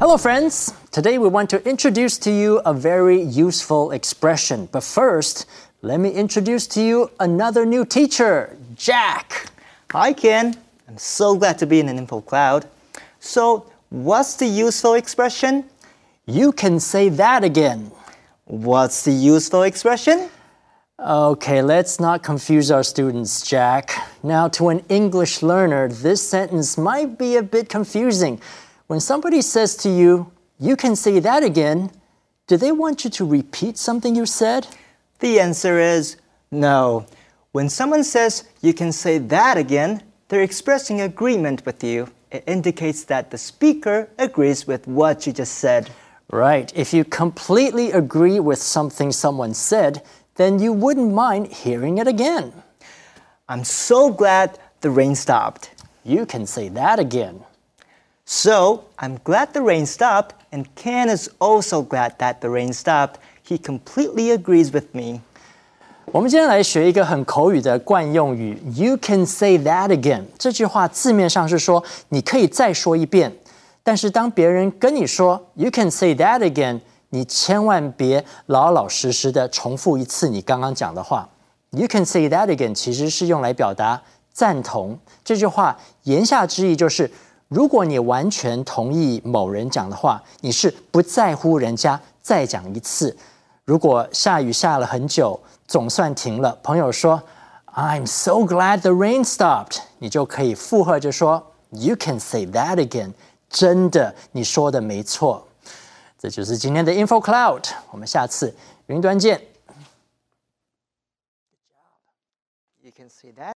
Hello, friends. Today we want to introduce to you a very useful expression. But first, let me introduce to you another new teacher, Jack. Hi, Ken. I'm so glad to be in an InfoCloud. So, what's the useful expression? You can say that again. What's the useful expression? Okay, let's not confuse our students, Jack. Now, to an English learner, this sentence might be a bit confusing. When somebody says to you, you can say that again, do they want you to repeat something you said? The answer is no. When someone says you can say that again, they're expressing agreement with you. It indicates that the speaker agrees with what you just said. Right. If you completely agree with something someone said, then you wouldn't mind hearing it again. I'm so glad the rain stopped. You can say that again. So, I'm glad the rain stopped, and Ken is also glad that the rain stopped. He completely agrees with me. 我们今天来学一个很口语的惯用语 You can say that again 这句话字面上是说你可以再说一遍，但是当别人跟你说 You can say that again 你千万别老老实实的重复一次你刚刚讲的话。 You can say that again 其实是用来表达赞同，这句话言下之意就是如果你完全同意某人讲的话，你是不在乎人家再讲一次。如果下雨下了很久，总算停了，朋友说 I'm so glad the rain stopped 你就可以附和着说 You can say that again 真的，你说的没错。这就是今天的 InfoCloud 我们下次云端见。 You can say that